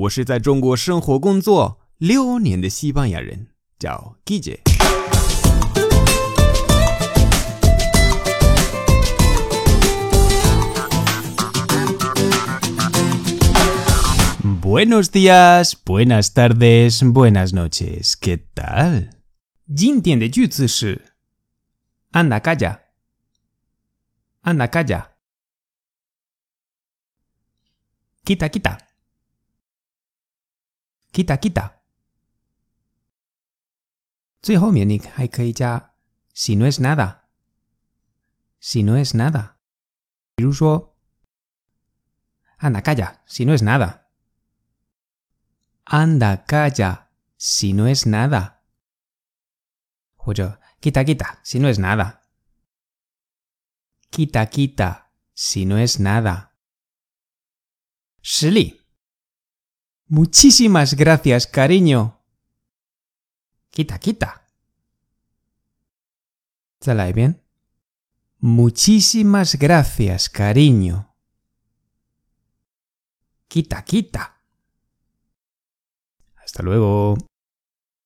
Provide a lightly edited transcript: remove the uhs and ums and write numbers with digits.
我是在中国生活工作6年的西班牙人，叫 Guille。Buenos días, buenas tardes, buenas noches. ¿Qué tal? 今天的句子是 Anda calla, anda calla. Quita, quita. Quita, quita. 最后面你还可以加 si no es nada. Si no es nada. 比如说 Anda calla, si no es nada. Anda calla, si no es nada. 或者 quita, quita, si no es nada. Quita, quita, si no es nada. 实例 Muchísimas gracias, cariño. Quita, quita. 再来一遍 Muchísimas gracias, cariño. Quita, quita. Hasta luego.